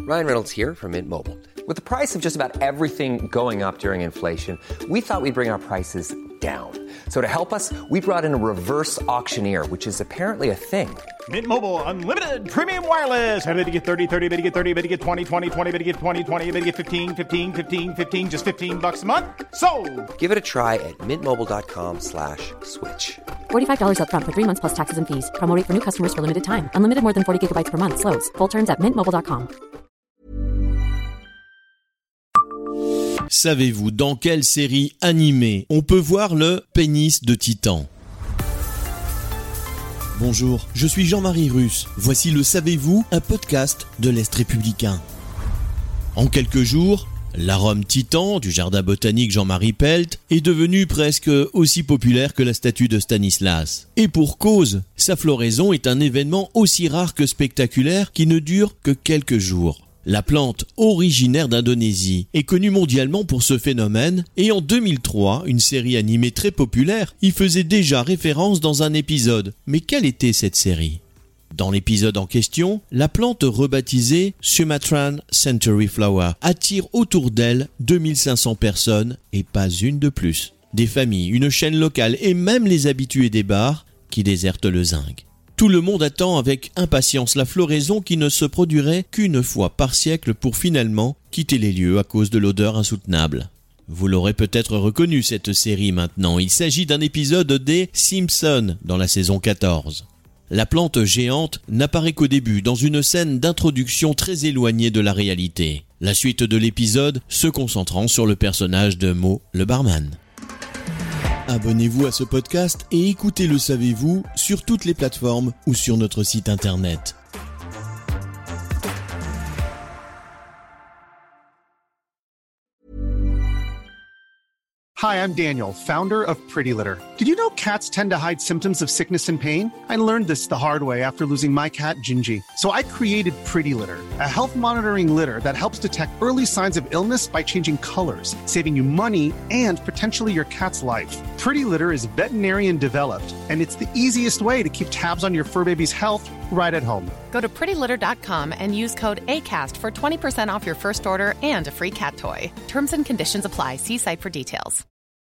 Ryan Reynolds here from Mint Mobile. With the price of just about everything going up during inflation, we thought we'd bring our prices down. So to help us, we brought in a reverse auctioneer, which is apparently a thing. Mint Mobile Unlimited Premium Wireless. How to get 30, 30, bit to get 30, bit to get 20, 20, 20, bit to get 20, 20, bit to get 15, 15, 15, 15, just $15 a month? Sold! Give it a try at mintmobile.com/switch. $45 up front for 3 months plus taxes and fees. Promo rate for new customers for limited time. Unlimited more than 40 gigabytes per month. Slows full terms at mintmobile.com. Savez-vous dans quelle série animée on peut voir le pénis de Titan ? Bonjour, je suis Jean-Marie Russe. Voici le Savez-vous, un podcast de l'Est républicain. En quelques jours, l'arôme Titan du jardin botanique Jean-Marie Pelt est devenu presque aussi populaire que la statue de Stanislas. Et pour cause, sa floraison est un événement aussi rare que spectaculaire qui ne dure que quelques jours. La plante, originaire d'Indonésie, est connue mondialement pour ce phénomène et en 2003, une série animée très populaire y faisait déjà référence dans un épisode. Mais quelle était cette série ? Dans l'épisode en question, la plante rebaptisée Sumatran Century Flower attire autour d'elle 2500 personnes et pas une de plus. Des familles, une chaîne locale et même les habitués des bars qui désertent le zinc. Tout le monde attend avec impatience la floraison qui ne se produirait qu'une fois par siècle pour finalement quitter les lieux à cause de l'odeur insoutenable. Vous l'aurez peut-être reconnu cette série maintenant, il s'agit d'un épisode des Simpsons dans la saison 14. La plante géante n'apparaît qu'au début dans une scène d'introduction très éloignée de la réalité. La suite de l'épisode se concentrant sur le personnage de Moe le barman. Abonnez-vous à ce podcast et écoutez Le Savez-vous sur toutes les plateformes ou sur notre site internet. Hi, I'm Daniel, founder of Pretty Litter. Did you know cats tend to hide symptoms of sickness and pain? I learned this the hard way after losing my cat, Gingy. So I created Pretty Litter, a health monitoring litter that helps detect early signs of illness by changing colors, saving you money and potentially your cat's life. Pretty Litter is veterinarian developed, and it's the easiest way to keep tabs on your fur baby's health right at home. Go to prettylitter.com and use code ACAST for 20% off your first order and a free cat toy. Terms and conditions apply. See site for details.